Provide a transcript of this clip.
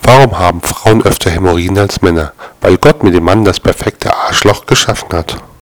Warum haben Frauen öfter Hämorrhoiden als Männer? Weil Gott mit dem Mann das perfekte Arschloch geschaffen hat.